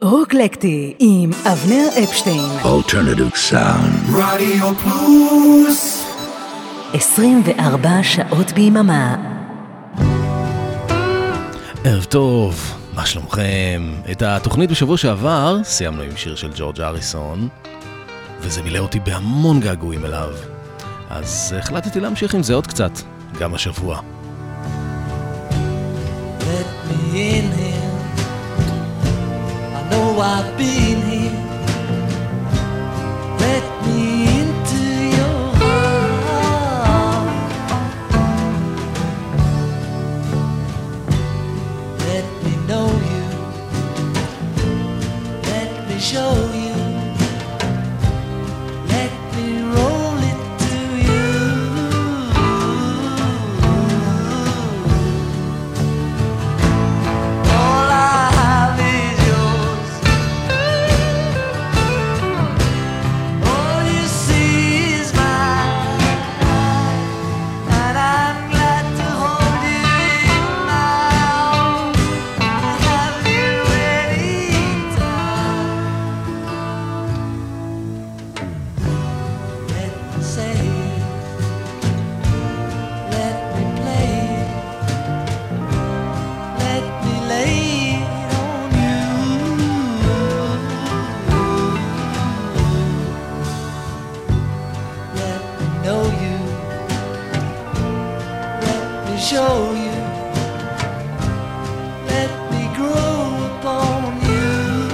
רוקלקטי עם אבנר אפשטיין. Alternative Sound. רדיו פלוס 24 שעות ביממה. ערב טוב, מה שלומכם? את התוכנית בשבוע שעבר סיימנו עם שיר של ג'ורג' הריסון, וזה מילא אותי בהמון געגועים אליו. אז החלטתי להמשיך עם זה עוד קצת, גם השבוע. Let me in here. I know I've been here. Let me into your heart. Let me know you. Let me show you. Let me roll it to you. All I have is yours. All you see is mine, and I'm glad to hold you in my arms. Have you anytime? Let me say it. Let me play it. Let me lay it on you. Let me know you. Let me show you. Let me grow upon you.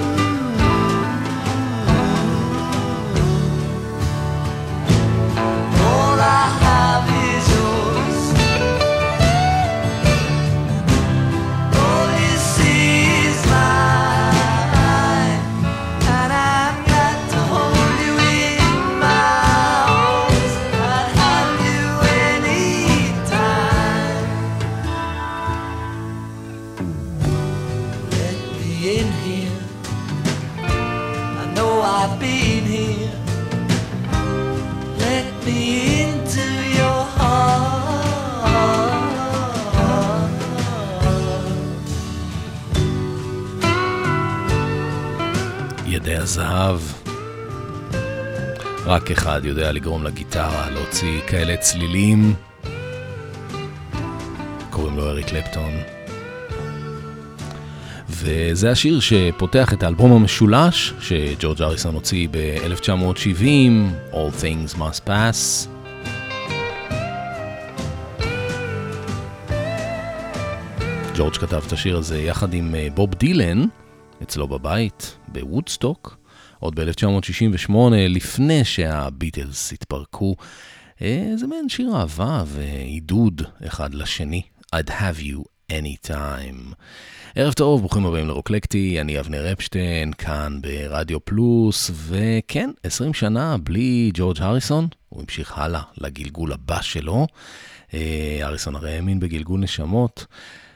All I have is yours. All you see is mine, and I'm glad to hold you in my arms. I'd have you anytime. Let me in here. I know I've been here. Let me into your heart. ידי הזהב. רק אחד יודע לגרום לגיטרה להוציא כאלה צלילים. קוראים לו אריק קלפטון. וזה השיר שפותח את האלבום המשולש שג'ורג' הריסון הוציא ב-1970, All Things Must Pass. ג'ורג' כתב את השיר הזה יחד עם בוב דילן, אצלו בבית, בוודסטוק, עוד ב-1968, לפני שהביטלס התפרקו. זה מעין שיר אהבה ועידוד אחד לשני. I'd have you anytime. ערב טוב, ברוכים הבאים לרוקלקטי, אני אבנר אפשטיין, כאן ברדיו פלוס, וכן, 20 שנה בלי ג'ורג' הריסון, הוא המשיך הלאה לגלגול הבא שלו. הריסון הרי האמין בגלגול נשמות.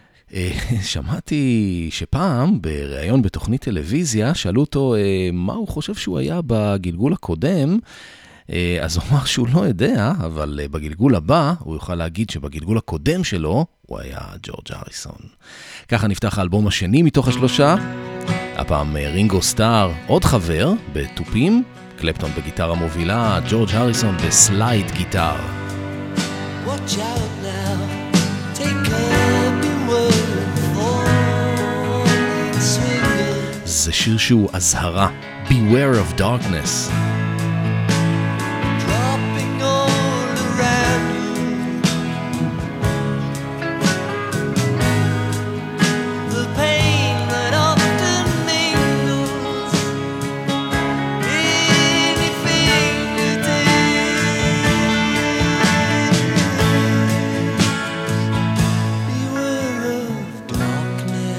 שמעתי שפעם בראיון בתוכנית טלוויזיה שאלו אותו מה הוא חושב שהוא היה בגלגול הקודם, אז הוא אמר שהוא לא יודע, אבל בגלגול הבא הוא יוכל להגיד שבגלגול הקודם שלו הוא היה ג'ורג' הריסון. ככה נפתח האלבום השני מתוך השלושה, הפעם רינגו סטאר, עוד חבר בטופים, קלפטון בגיטרה מובילה, ג'ורג' הריסון בסלייד גיטר. Watch out now, take up your word for swinging. זה שיר שהוא הזהרה, Beware of Darkness. Dropping all around you. The pain that often mingles in your fingertips. Beware of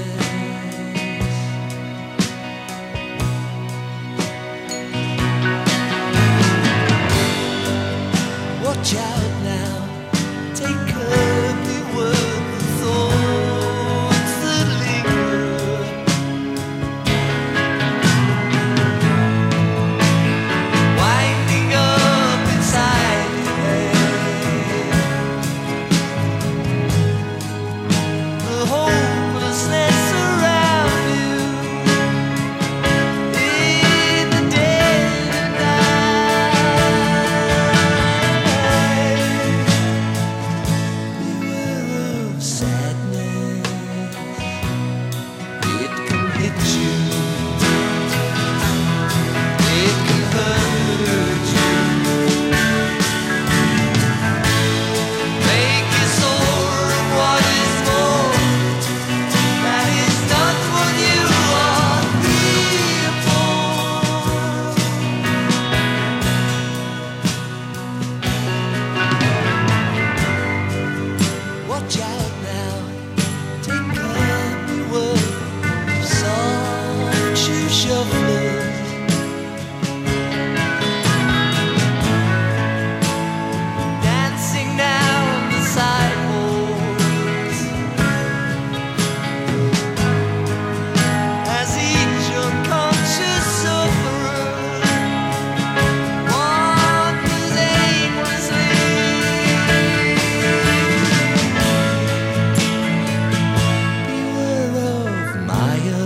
darkness. shufflers. Dancing now on the sidewalks as each unconscious sufferer wanders aimlessly. Beware of Maya.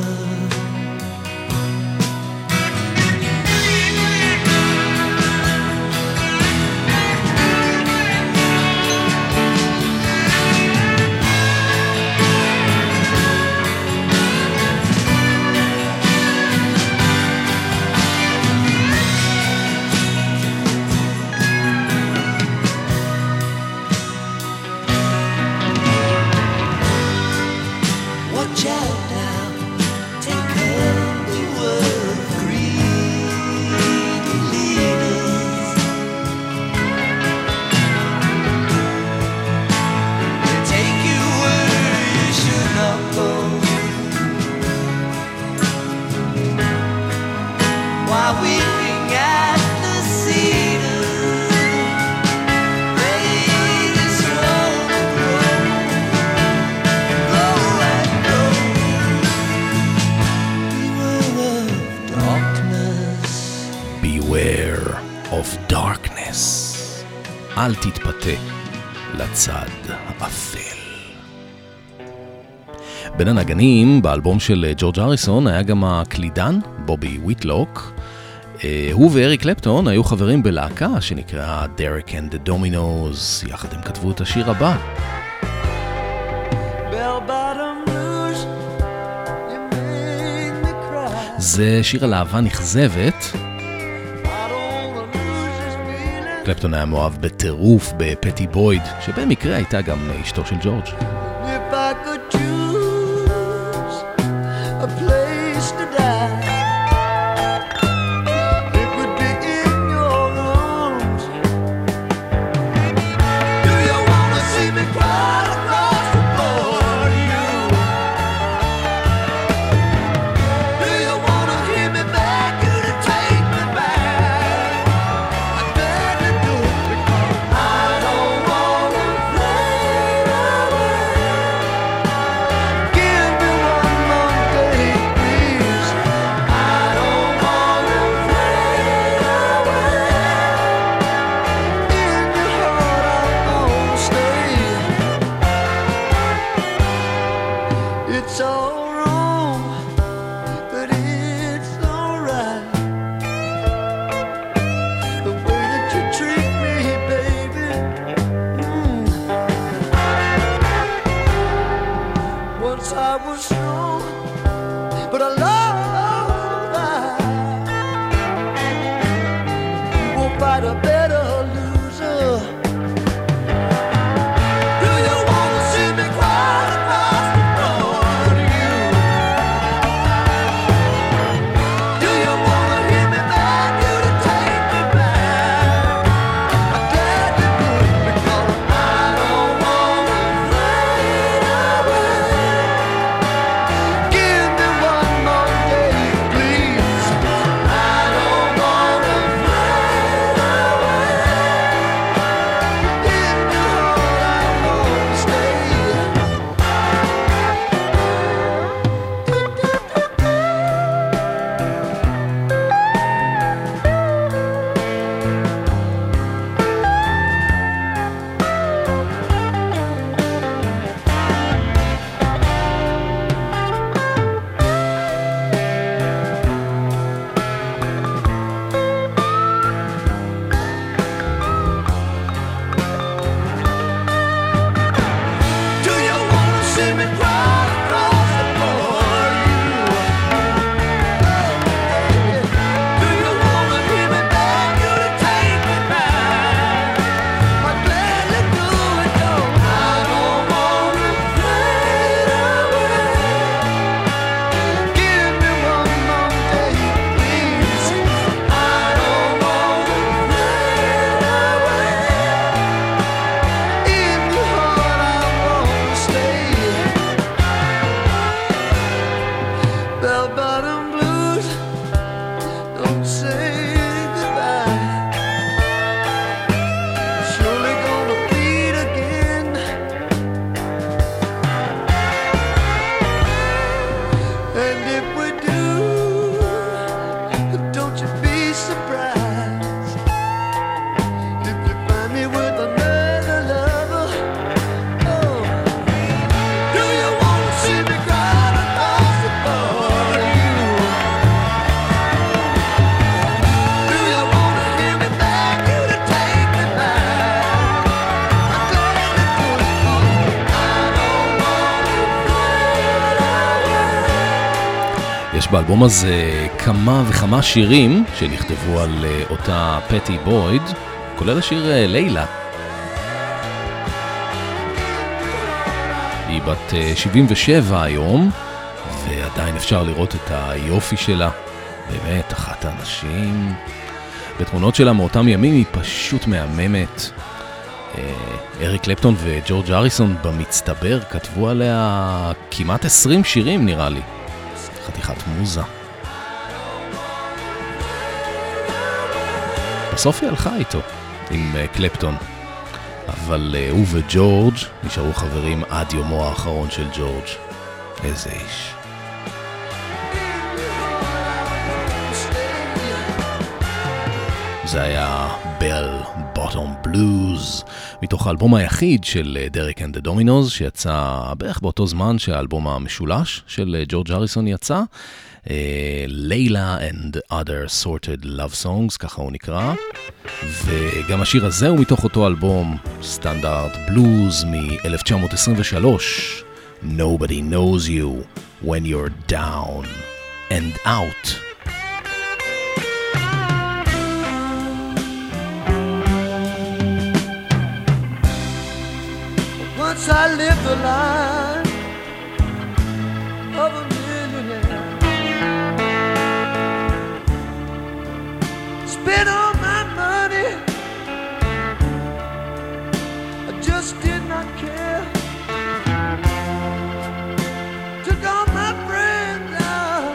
Watch out now, take cover of greedy leaders. They take you where you should not go, while weeping at the cedars. They destroy the grow and grow. Beware of darkness. Beware of darkness. אל תתפתה לצד האפל. בין הנגנים באלבום של ג'ורג' הריסון היה גם הקלידן בובי וויטלוק. הוא ואריק קלפטון היו חברים בלהקה שנקראה Derek and the Dominos. יחד הם כתבו את השיר הבא. Bell-bottom blues, you make me cry. זה שיר על אהבה נכזבת. I don't wanna lose this feeling. קלפטון היה מאוהב בטירוף בפטי בויד, שבמקרה הייתה גם אשתו של ג'ורג'. If I could choose a place to die, it would be in your arms. Do you wanna see me cry across the floor to you? Do you wanna hear me beg you to take me back? I beg you to, because I don't wanna fade away. Give me one more day, please. I don't wanna fade away. In your heart I'll always stay. It's all wrong, but it's alright. The way that you treat me, baby. Once I was strong, but I love that. You won't fight a better loser. Do you wanna see me cry across the floor to you? Do you wanna hear me beg you to take me back? I'm glad you could, because I don't wanna fade away. Give me one more day, please. I don't wanna fade away. באלבום הזה כמה וכמה שירים שנכתבו על אותה פטי בויד, כולל השיר לילה. היא בת 77 היום, ועדיין אפשר לראות את היופי שלה. באמת, אחת האנשים. בתמונות שלה מאותם ימים היא פשוט מהממת. אריק קלפטון וג'ורג' הריסון במצטבר כתבו עליה כמעט 20 שירים נראה לי. חתיכת מוזה. בסוף היא הלכה איתו עם קלפטון, אבל הוא וג'ורג' נשארו חברים עד יומו האחרון של ג'ורג'. איזה איש. זה היה בל בוטום בלוז, מתוך האלבום היחיד של דרק אנד דה דומינוז, שיצא בערך באותו זמן שהאלבום המשולש של ג'ורג' הריסון יצא, לילה and other sorted love songs, ככה הוא נקרא, וגם השיר הזה הוא מתוך אותו אלבום, סטנדרט בלוז מ-1923, Nobody knows you when you're down and out. Once I lived the life of a millionaire, spent all my money, I just did not care. Took all my friends out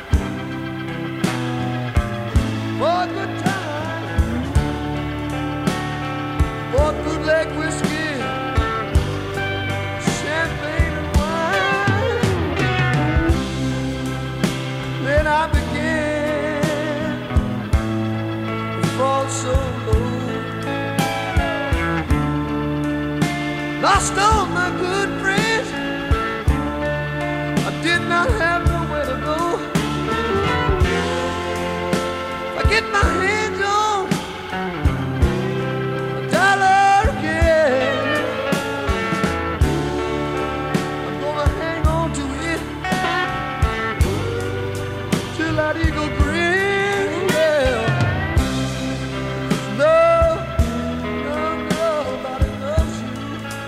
for a good time, for good leg whiskey, I began to fall so low, lost all my good friends, I did not have nowhere to go. I get my hands on $1 again, I'm gonna hang on to it that eagle grin, yeah. Nobody loves you.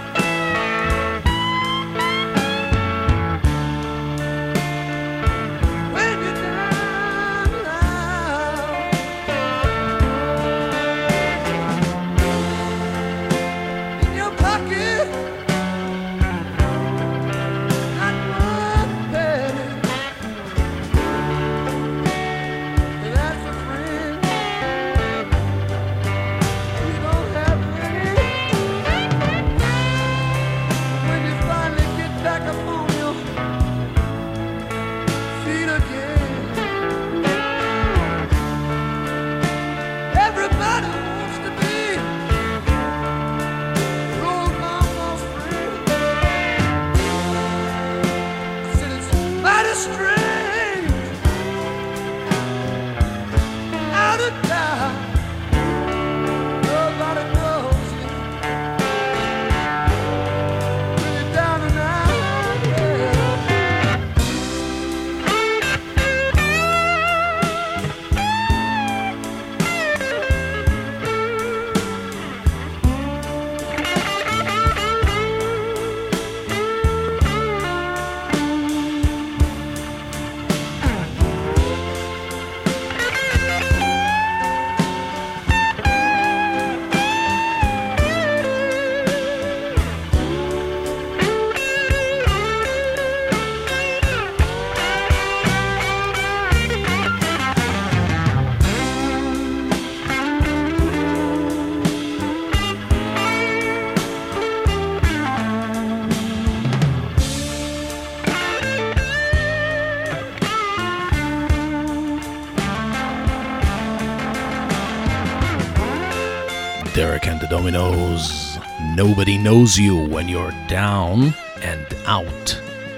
When you're down and out, in your pocket, not one penny. Derek and the Dominos, Nobody knows you when you're down and out.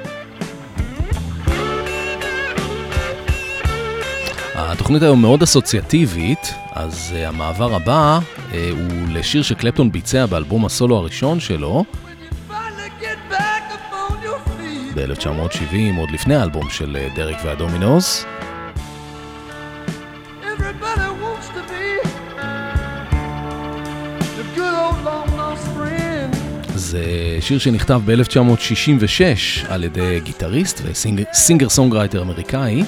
התוכנית היום מאוד אסוציאטיבית, אז המעבר הבא הוא לשיר שקלפטון ביצע באלבום הסולו הראשון שלו. Finally get back up on your feet. ב-1970, עוד לפני האלבום של דרק והדומינוס. Everybody wants to be the good old long lost friend. זה שיר שנכתב ב-1966 על ידי גיטריסט וסינגר סונגרייטר אמריקאי.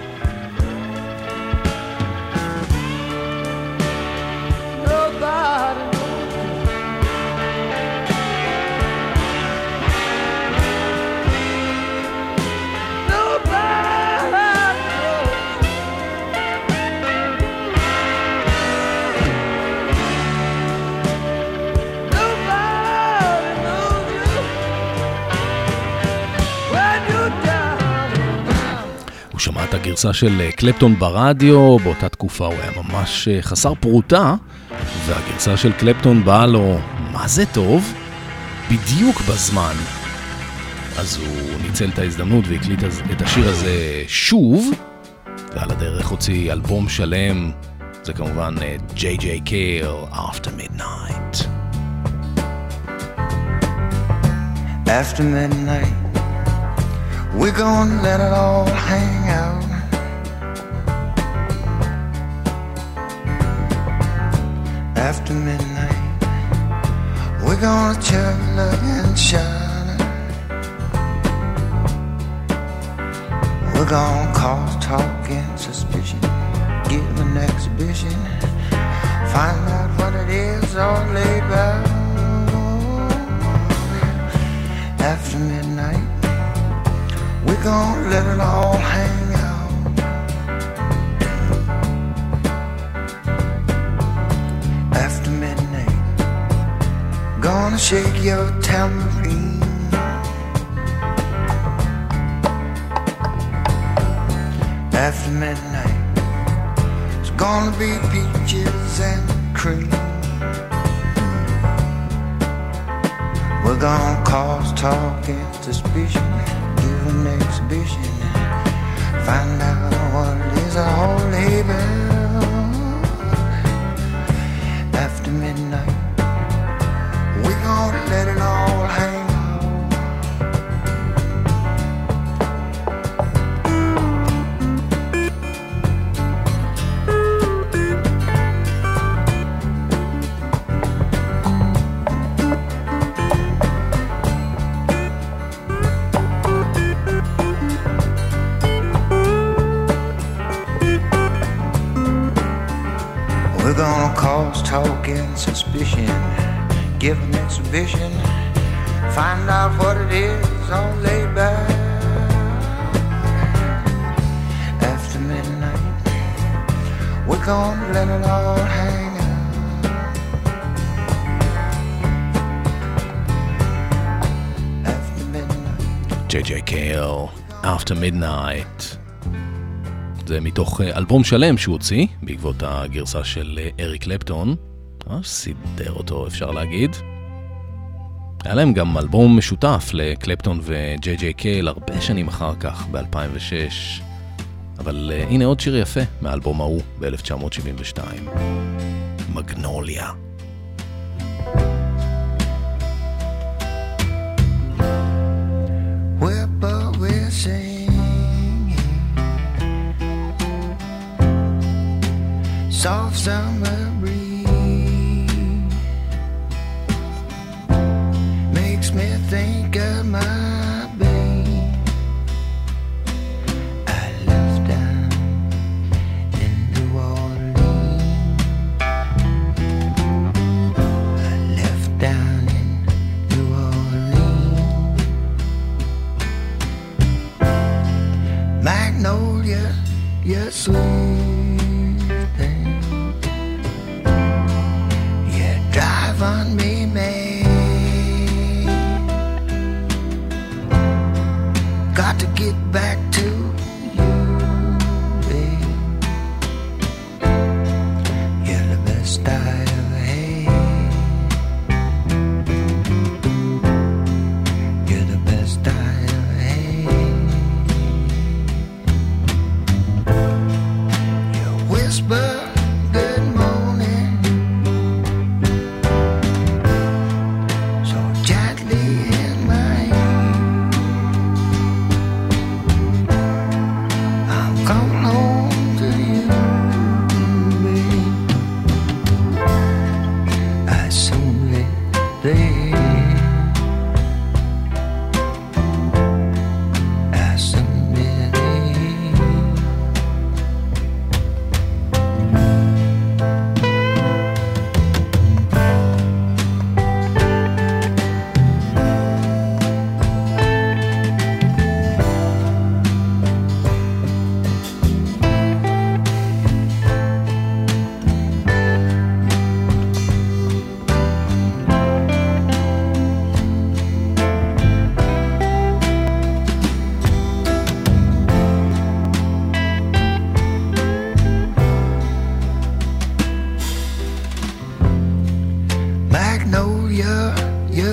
שמע את הגרסה של קלפטון ברדיו, באותה תקופה הוא היה ממש חסר פרוטה, והגרסה של קלפטון באה לו מה זה טוב, בדיוק בזמן. אז הוא ניצל את ההזדמנות והקליט את השיר הזה שוב, ועל הדרך הוציא אלבום שלם, זה כמובן J.J. Cale, After Midnight. After midnight, we're gonna let it all hang out. After midnight, we're gonna chug, love and shine. We're gonna cause talk and suspicion, give an exhibition, find out what it is all laid back. After midnight, we're gonna let it all hang out. After midnight, gonna shake your tambourine. After midnight, it's gonna be peaches and cream. We're gonna cause talk and suspicion, give an exhibition, find out what it is a holy bell. After midnight, we're gonna let it all hang. We're gonna cause talk and suspicion, give an exhibition, find out what it is all laid back. After midnight, we're gonna let it all hang out. After midnight, J.J. Cale, After Midnight. זה מתוך אלבום שלם שהוא הוציא, בעקבות הגרסה של אריק קלפטון. סידר אותו, אפשר להגיד. היה להם גם אלבום משותף לקלפטון וג'יי-ג'יי קייל הרבה שנים אחר כך, ב-2006. אבל הנה עוד שיר יפה מהאלבום ההוא ב-1972. מגנוליה. Soft summer breeze makes me think of my babe. I left down in New Orleans. I left down in New Orleans. Magnolia, you're sweet. On me, man. Got to get back to you, babe. You're the best I ever had. You're the best I ever had. You whisper good morning so gently in my ear.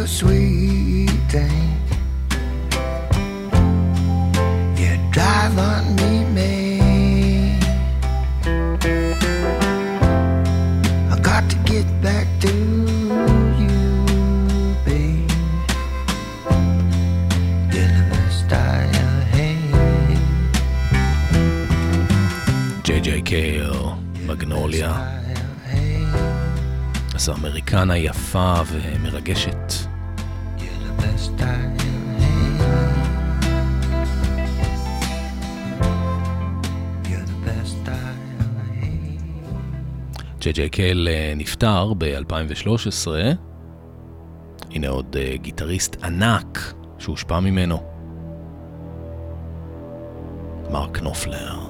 sweet thing. You drive on me, man. I got to get back to you, babe. You're the best I ever had. J.J. קייל, מגנוליה. זו אמריקנה יפה ומרגשת. ג'יי קייל נפטר ב-2013. הנה עוד גיטריסט ענק שהושפע ממנו, מרק נופלר.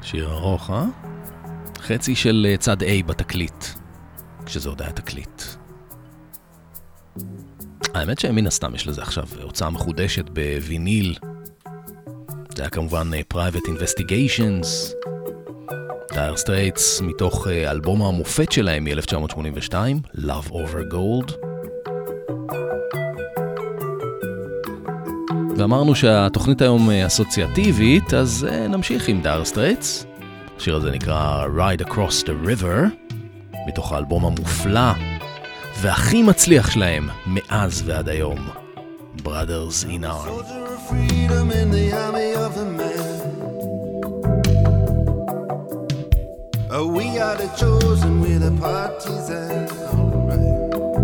שיר ארוך, חצי של צד A בתקליט, כשזה עוד היה תקליט. האמת שמן הסתם יש לזה עכשיו הוצאה מחודשת בוויניל. זה היה כמובן Private Investigations, Dire Straits, מתוך אלבום המופת שלהם מ-1982, Love Over Gold. ואמרנו שהתוכנית היום אסוציאטיבית, אז נמשיך עם Dire Straits. השיר הזה נקרא Ride Across the River, מתוך האלבום המופלא והכי מצליח שלהם מאז ועד היום, Brothers in Arms. Soldier of freedom in the army of the man. Oh, we are the chosen, we're the partisans. Alright.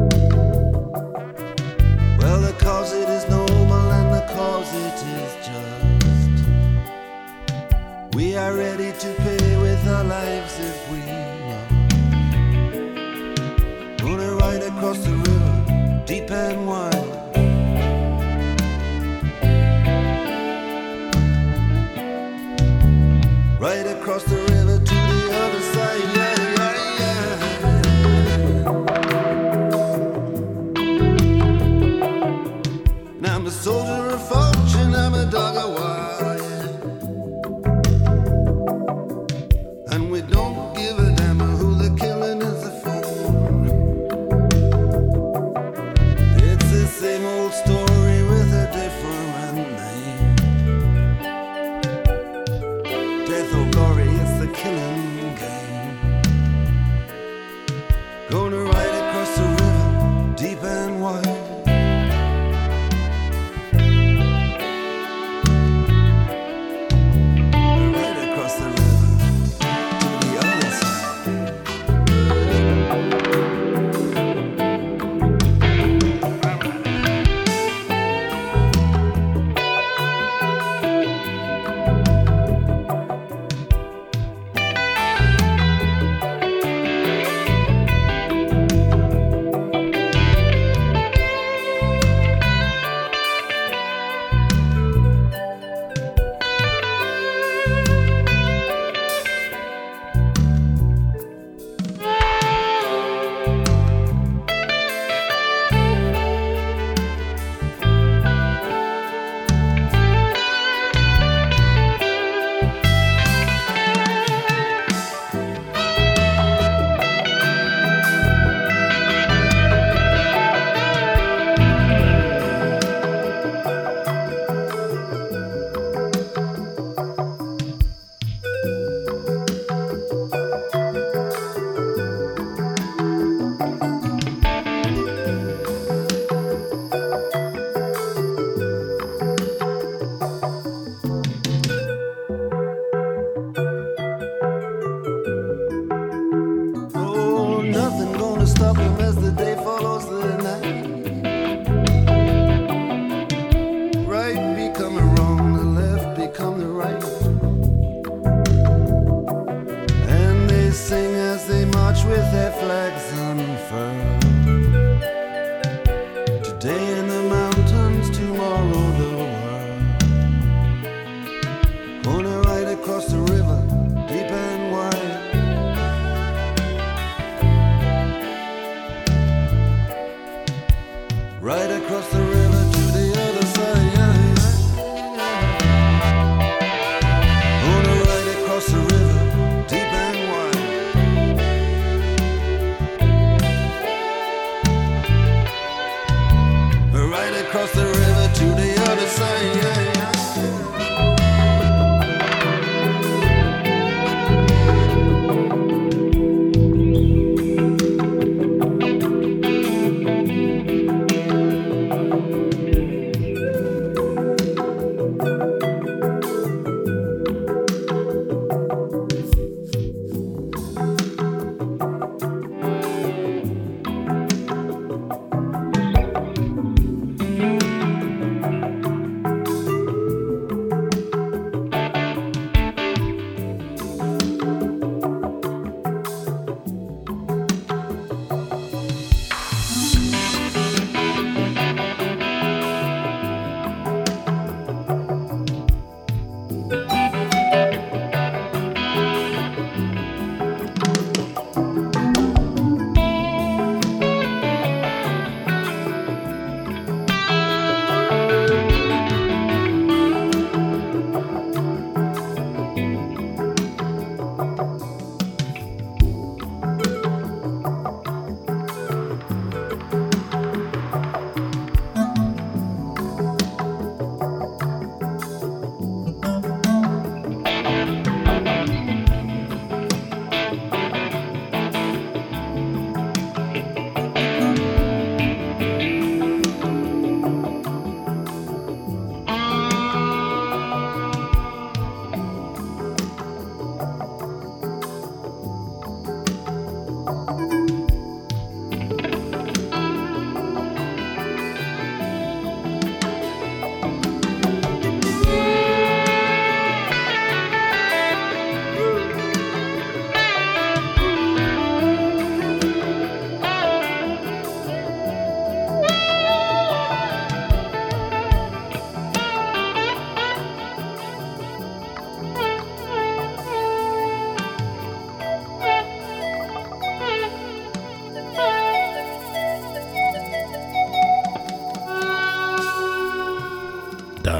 Well, the cause it is noble and the cause it is just. We are ready to pay with our lives if we want. Gonna ride across the river, deep and wide. Right across the river to the other side, yeah, yeah, yeah. Now I'm a soldier of fortune, I'm a dog of war, yeah. And we don't give a damn who the killing is for. It's the same old story with a different name. Death or glory, it's the killing game. Gonna ride across the river, deep and wide. Ride across the river, to the other side. Oh, nothing gonna stop him as the day follows the night. Right becoming wrong, the left become the right. And they sing as they march with their flags unfurled. Today in the mountains, tomorrow the world. Gonna ride across the river, deep and wide. Right across the river to the other side, yeah, yeah. Gonna ride across the river, deep and wide. Right across the river to the other side, yeah, yeah.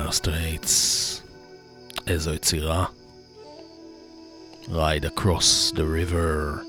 Dire Straits. איזו יצירה. Ride Across the River.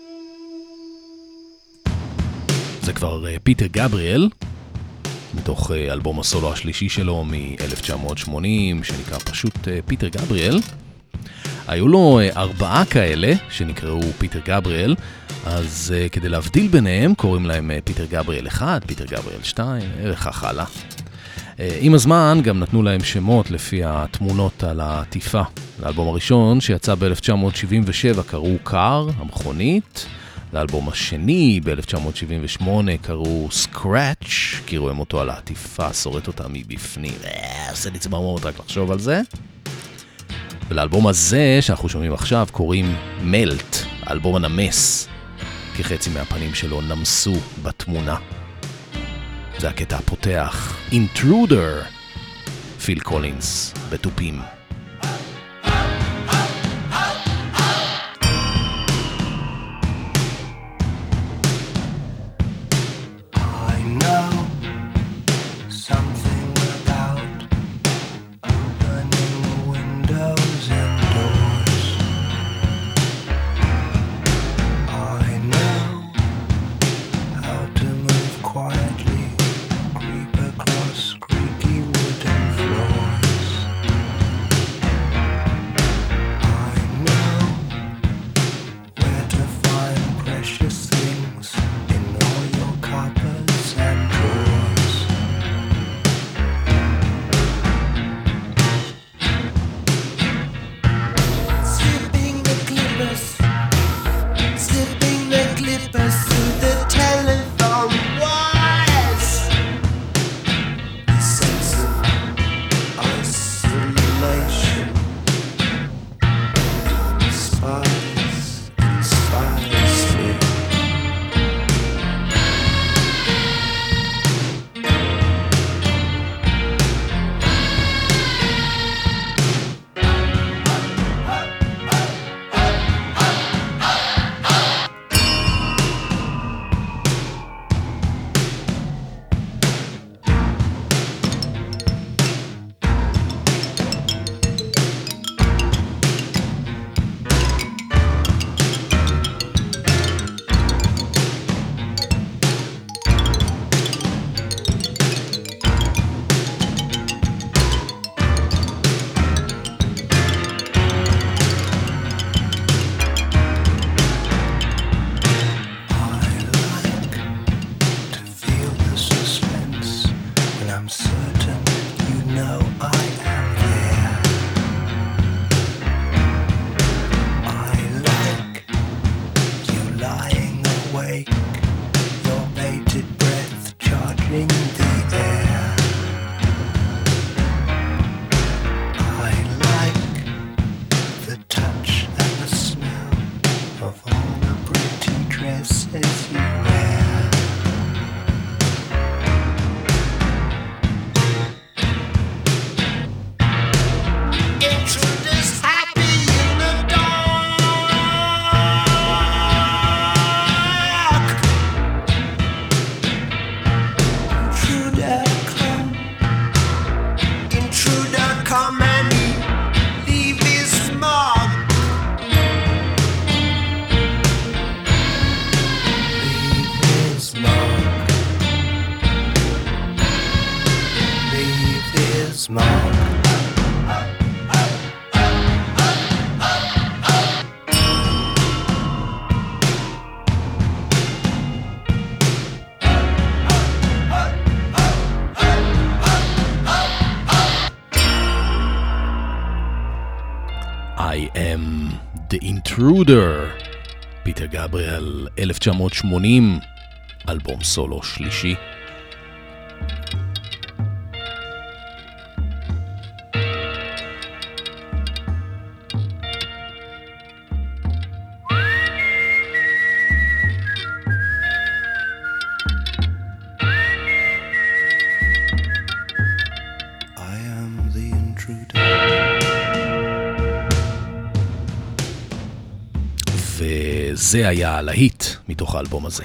זה כבר פיטר גבריאל, מתוך אלבום הסולו השלישי שלו מ-1980, שנקרא פשוט פיטר גבריאל. היו לו 4 כאלה שנקראו פיטר גבריאל, אז כדי להבדיל ביניהם קוראים להם פיטר גבריאל 1, פיטר גבריאל 2, וכך הלאה. עם הזמן גם נתנו להם שמות לפי התמונות על העטיפה. לאלבום הראשון שיצא ב-1977 קראו קאר, המכונית. לאלבום השני ב-1978 קראו סקראץ', כי רואים אותו על העטיפה, שורט אותה מבפנים. עושה לי צמרמורת רק לחשוב על זה. ולאלבום הזה שאנחנו שומעים עכשיו קוראים מלט, האלבום הנמס, כי חצי מהפנים שלו נמסו בתמונה. זה הקטע הפותח, Intruder, פיל קולינס בטופים. I am the Intruder, פיטר גבריאל, 1980, אלבום סולו שלישי. וזה היה הלהיט מתוך האלבום הזה.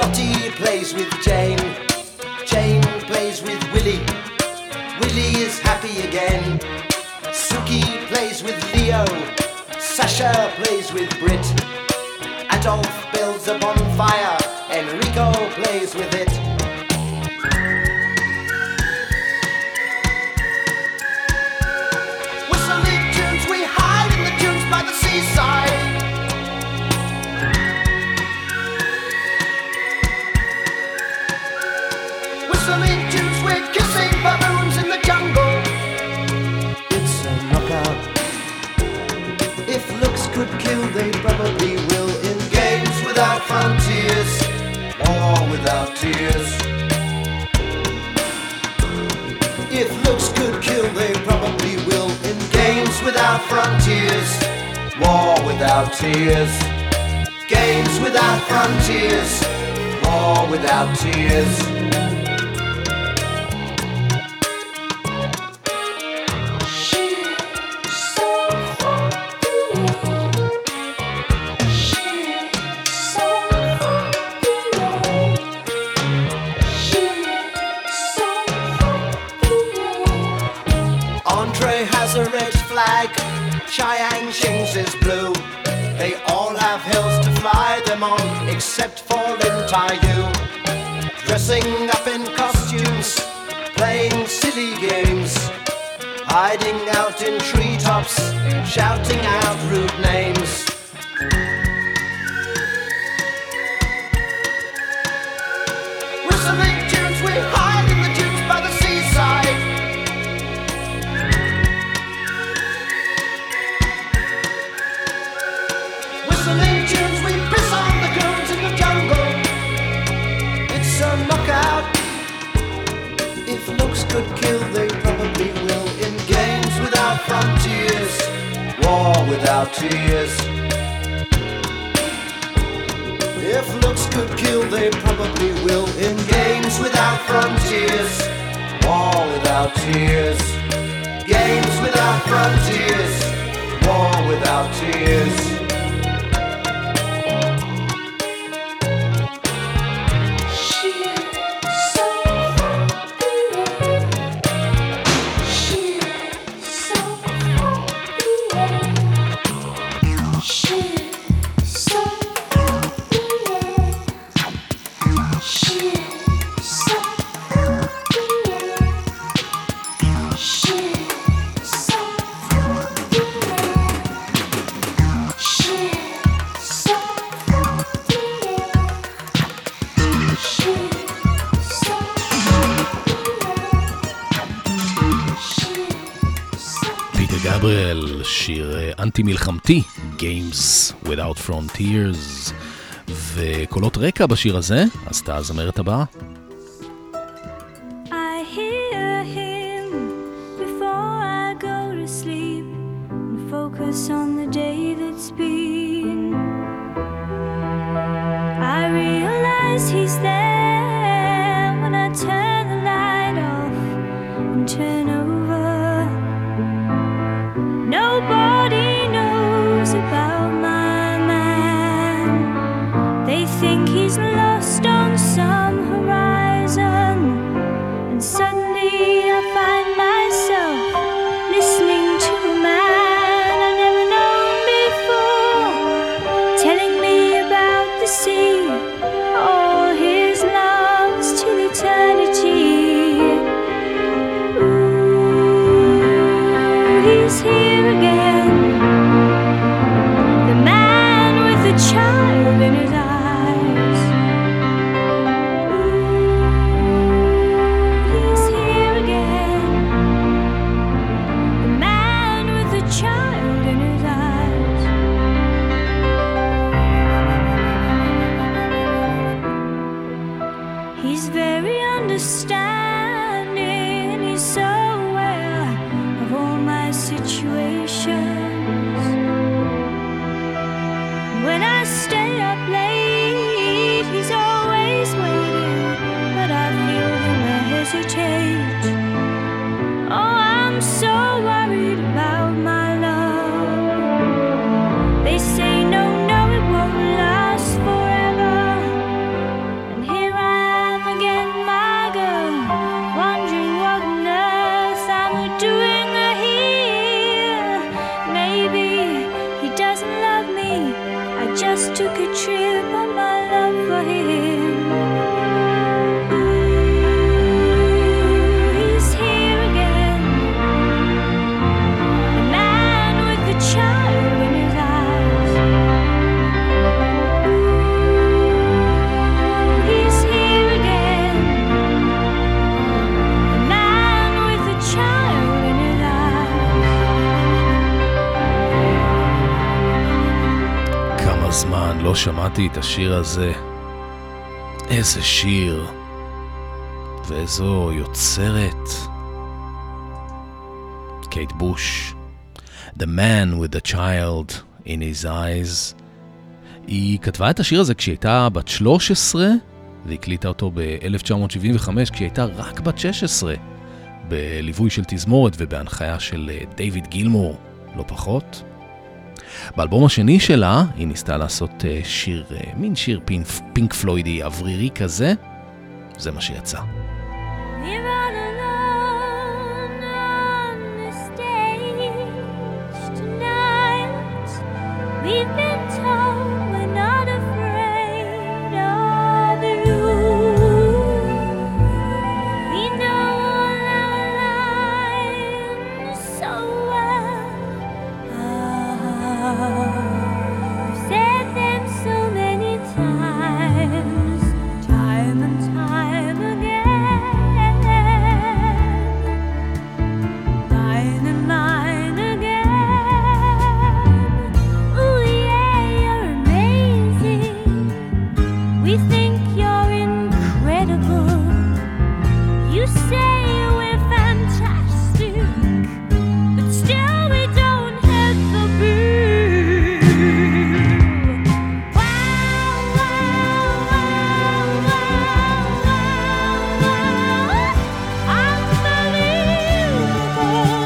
Lottie plays with Jane. Jane plays with Willie. Willie is happy again. Suki plays with Leo. Sasha plays with Brit. Adolf builds a bonfire. Enrico plays with it. Whistling tunes, we hide in the dunes by the seaside. Whistling tunes, we're kissing baboons in the jungle. It's a knockout. If looks could kill, they probably will. In games without frontiers, war without tears. If looks could kill, they probably will. In games without frontiers, war without tears. Games without frontiers, war without tears. Andre has a red flag, Chiang Shing's is blue. They all have hills to fly them on, except for Lin Tai-yu. Dressing up in costumes, playing silly games, hiding out in treetops, shouting out rude names. Whistling tunes, we hide in the dunes by the seaside. Whistling tunes, we piss on the goons in the jungle. It's a knockout. If looks could kill, they probably will. In games without frontiers, war without tears. If looks could kill, they probably will. In games without frontiers, war without tears. Games without frontiers, war without tears. גבריאל, שיר אנטי מלחמתי, Games Without Frontiers, וקולות רקע בשיר הזה, אז אתה הזמרת הבאה. I hear him before I go to sleep and focus on the day that's been. I realize he's there when I turn the light off and turn over. Nobody knows about my man. They think he's lost on some horizon, and suddenly I find myself listening to a man I never known before, telling me about the sea, all his loves till eternity. Ooh, he's here again, the man with the child in his eyes. Ooh, he's here again, the man with the child in his eyes. He's very understanding, he's so aware of all my situations. When I stay up late, he's always waiting, but I feel him hesitate. Oh, I'm so worried about my love. They say no, no, it won't last forever, and took a trip on my love for him. He's here again, the man with the child in his eyes. He's here again, the man with the child in his eyes. כמה זמן לא שמעתי את השיר הזה. איזה שיר. ואיזו יוצרת. קייט בוש. The man with the child in his eyes. היא כתבה את השיר הזה כשהיא הייתה בת 13, והקליטה אותו ב-1975 כשהיא הייתה רק בת 16, בליווי של תזמורת ובהנחיה של דיוויד גילמור, לא פחות. באלבום השני שלה היא ניסתה לעשות שיר, מין שיר פינק פלוידי אוורירי כזה. זה מה שיצא. We're all alone on the stage tonight. We've been told we're not afraid of you. We know all our lines so well. I've said them so many times, time and time again. Mine and mine again. Ooh yeah, you're amazing. We think you're incredible. You say we're fantastic, but still we don't hit the beat. Wow, wow, wow, wow, wow, unbelievable.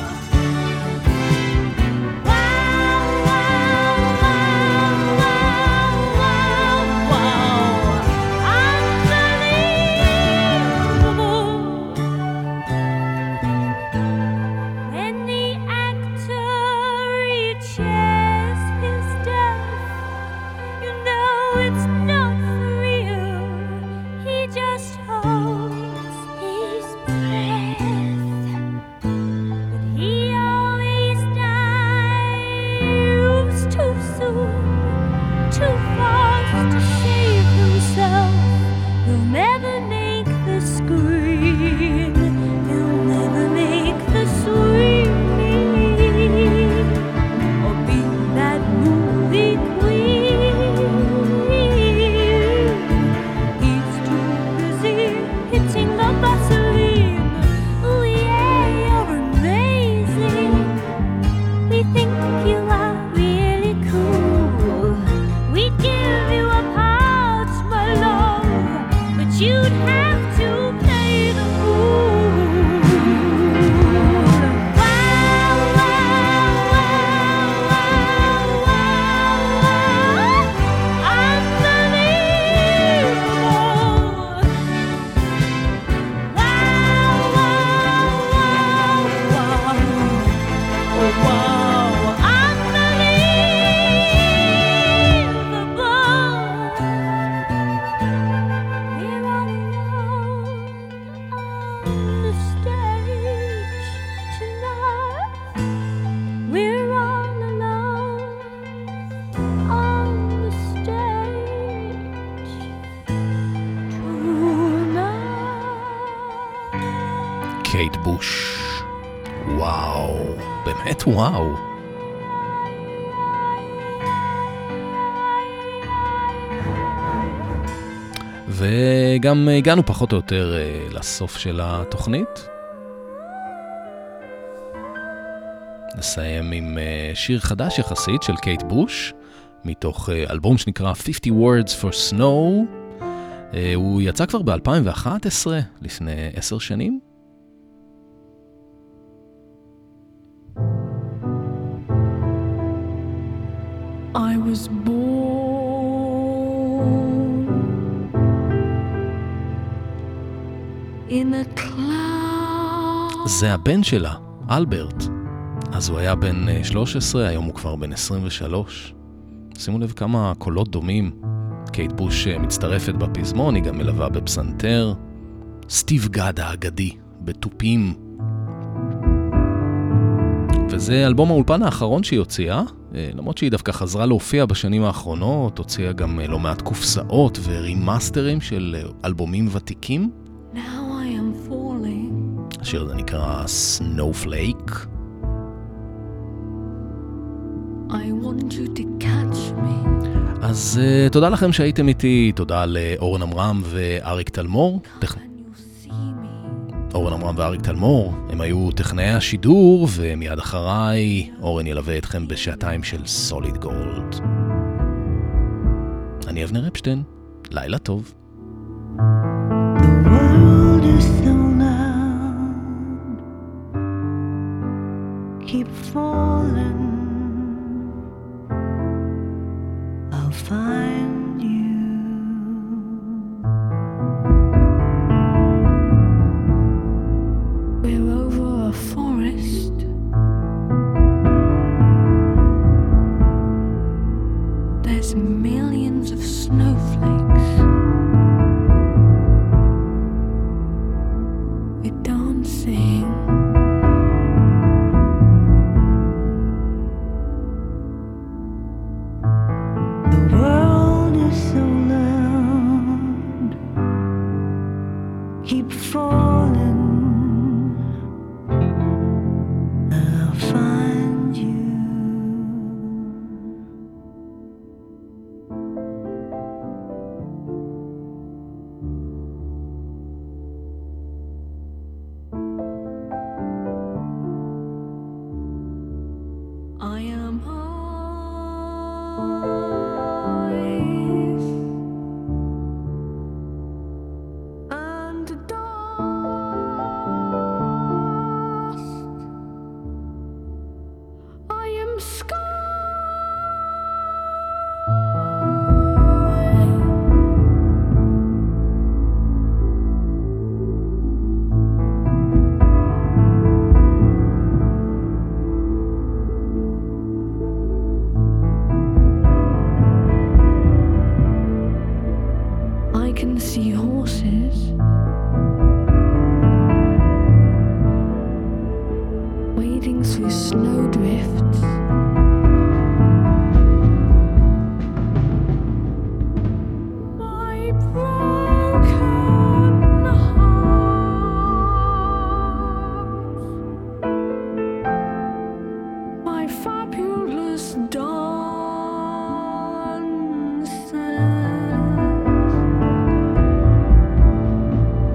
Wow, wow, wow, wow, wow, unbelievable. When the actor reaches his death, you know it's not for real. He just holds his breath. But he always dies too soon, too fast to save himself. He'll never make the screen. He'll never make the screen. Or be that movie queen. He's too busy hitting the Vaseline. Ooh yeah, you're amazing. We think you are really cool. We'd give you a part, my love, but you'd have to play the fool. Wow, wow, wow, wow, wow, unbelievable. Wow, wow, wow, wow, unbelievable. We're all alone on the stage tonight. We're all alone on the stage tonight. קייט בוש. וואו, באמת וואו. וגם הגענו פחות או יותר לסוף של התוכנית. נסיים עם שיר חדש יחסית של קייט בוש, מתוך אלבום שנקרא 50 Words for Snow. הוא יצא כבר ב-2011, לפני 10 שנים. I was born in a cloud. זה הבן שלה, אלברט. אז הוא היה בן 13, היום הוא כבר בן 23. שימו לב כמה קולות דומים. קייט בוש מצטרפת בפזמון, היא גם מלווה בפסנתר. סטיב גאד האגדי בתופים. וזה אלבום האולפן האחרון שהיא הוציאה, למרות שהיא דווקא חזרה להופיע בשנים האחרונות, הוציאה גם לא מעט קופסאות ורימאסטרים של אלבומים ותיקים. Now I am falling. השיר הזה נקרא Snowflake. I want you to catch me. אז תודה לכם שהייתם איתי, תודה לאורן אמרם ואריק תלמור. Can you see me? אורן אמרם ואריק תלמור, הם היו טכנאי השידור, ומיד אחריי אורן ילווה אתכם בשעתיים של סוליד גולד. אני אבנר אפשטיין, לילה טוב. The world is so loud, keep falling. I'll find you. We're over a forest. There's millions of snowflakes. We're dancing. The world is so loud, keep falling. I'll find you. I am and dust. I am sky. I can see horses wading through snowdrifts. My broken heart, my fabulous dances.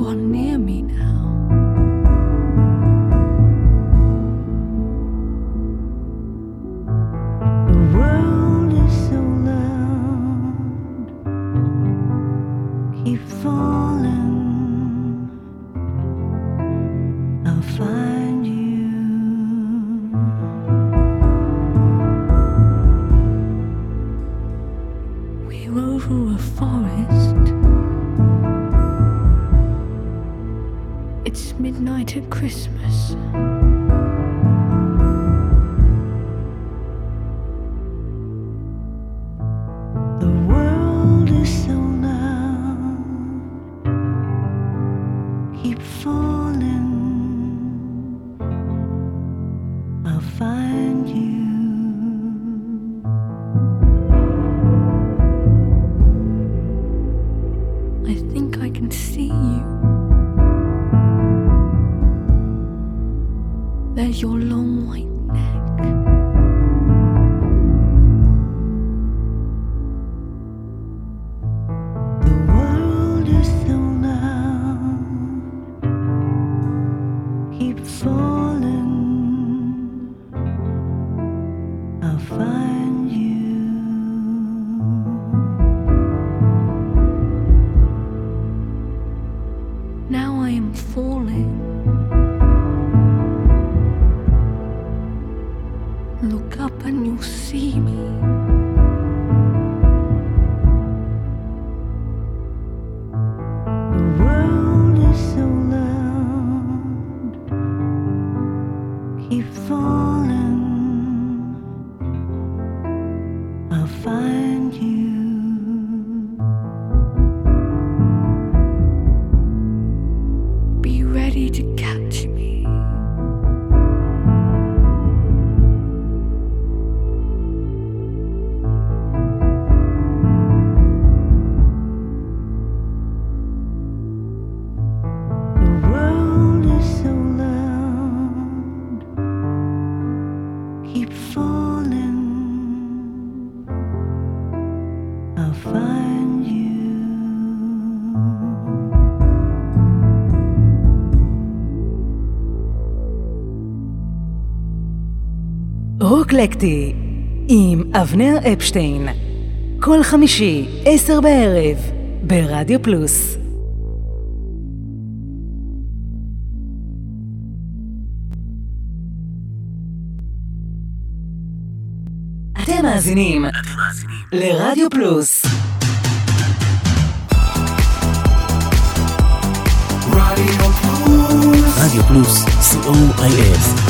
are near me now. The world is so loud, keep falling, I'll find you. We rode through a forest. It's midnight at Christmas. The world is so loud, keep falling, I'll find you. I think I can see you. There's your long white neck. The world is so loud, keep falling, I'll find you. Now I am falling. Look up and you'll see me. The world is so loud, keep falling, I'll find you. Be ready to catch me. The world is so loud, keep falling, I'll find you. רוקלקטי עם אבנר אפשטיין, כל חמישי 10 בערב ברדיו פלוס. אתם מאזינים לרדיו פלוס. רדיו פלוס, co.il